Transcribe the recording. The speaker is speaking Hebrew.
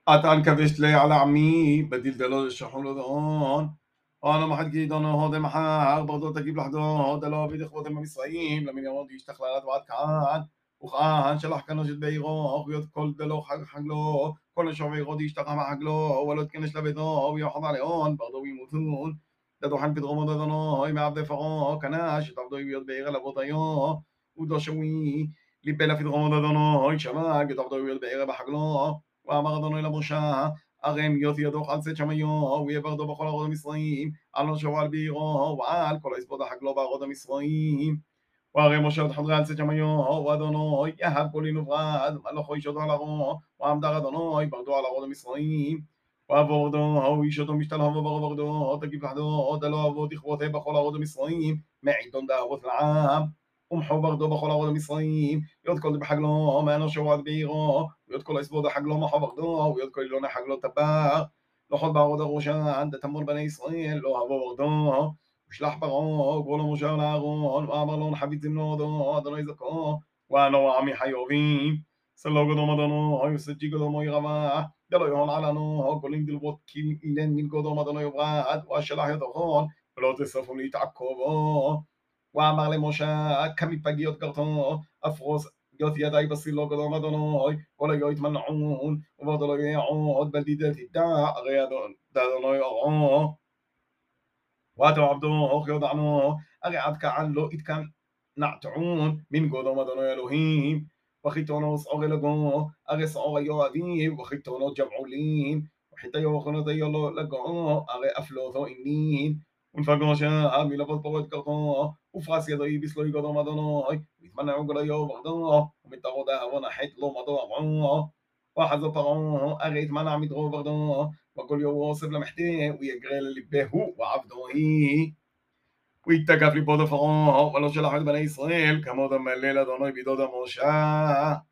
أتان كبشت لي على عمي بديل دلو شحول ذون أنا ما حد جيد أنا هذا محا برضو تجيب لحظة هذا لا بيد إخوة ما بيسرائيم لمن يوم يشتغل على بعد كان وخان شلح كانوا جد بيغو ويد كل دلو حق له كل شو بيغو يشتغل مع حق له ولد كنش لبيضو ويحضر عليهم برضو يموتون ددو حن في غمض ذنو هاي ما عبد فقو كناش تعبدو يد بيغ لبوطيو ودو شوي لبلا في غمض ذنو هاي شماك تعبدو يد بيغ بحق له ואמר אדוני למשה, הרי אם יוציא ידו על צאת שמיו, ויברדו בכל ארוד המצרים, על נושו ועל בעירו, ועל כל היספוד החגלו בארוד המצרים. והרי משה עוד חדרי על צאת שמיו, ואדוני יהב קולי נוברד, מלאכו איש אותו על ארו, ועמדר אדוני ברדו על ארוד המצרים. ועבורדו, איש אותו משתלהו וברבורדו, תגיב לחדו, דלו אבו תכבותה בכל ארוד המצרים, מעידון דאבות לעם. ומחו ברדו בכל ארוד המצרים, יוד כל בחגלו, מאנושו ועד בעירו, ויוד כל היספוד החגלו מחו ברדו, ויוד כל אילון החגלו טבר. לכל בערוד הראשן, דתמול בני ישראל, לא אבו ברדו. ושלח פרעה, גבו לו משה לאהרון, ואמר לו נחבית זמנודו, אדוני זכו, ואנו עמי חיובים. סלו גדום אדוני, וסג'י גדום ירבה, דלו יהון עלנו, גולים דלבות כי אילן מן גדום אדוני יברד, ואשלח ידכון, ולא תספו להתעקבו. ואמר למשה, כמפגיות גרתו, אפרוס גיות ידי בסילו גדום אדוני, כל היו יתמנעון, וברד לא יעוד, בלדידת ידע, הרי אדוני ירעו. واتوا عبدوه يضعنوه أقعد كعلو إتكن نعتعون من قدوم أدونو إلهيم وخيتونو صعغ لقوه أغي صعغ يواديم وخيتونو جمعولين وحتى يوخنو تيولو لقوه أغي أفلوثو إنين ونفقو شاء ملبط بغد كرتوه وفاس يدوي بسلوي قدوم أدونو ويتمنعو قليو بغدوه ومتغو داهو نحيت لو مضوعوه وحزو طغوه أغي يتمنع مدغو بغدوه وكل يوم واصف لمحتيه ويجري للبه وعبده ويتقف لبود فرعون ولو شلح بني إسرائيل كما دم الليل أدوني بدود موشى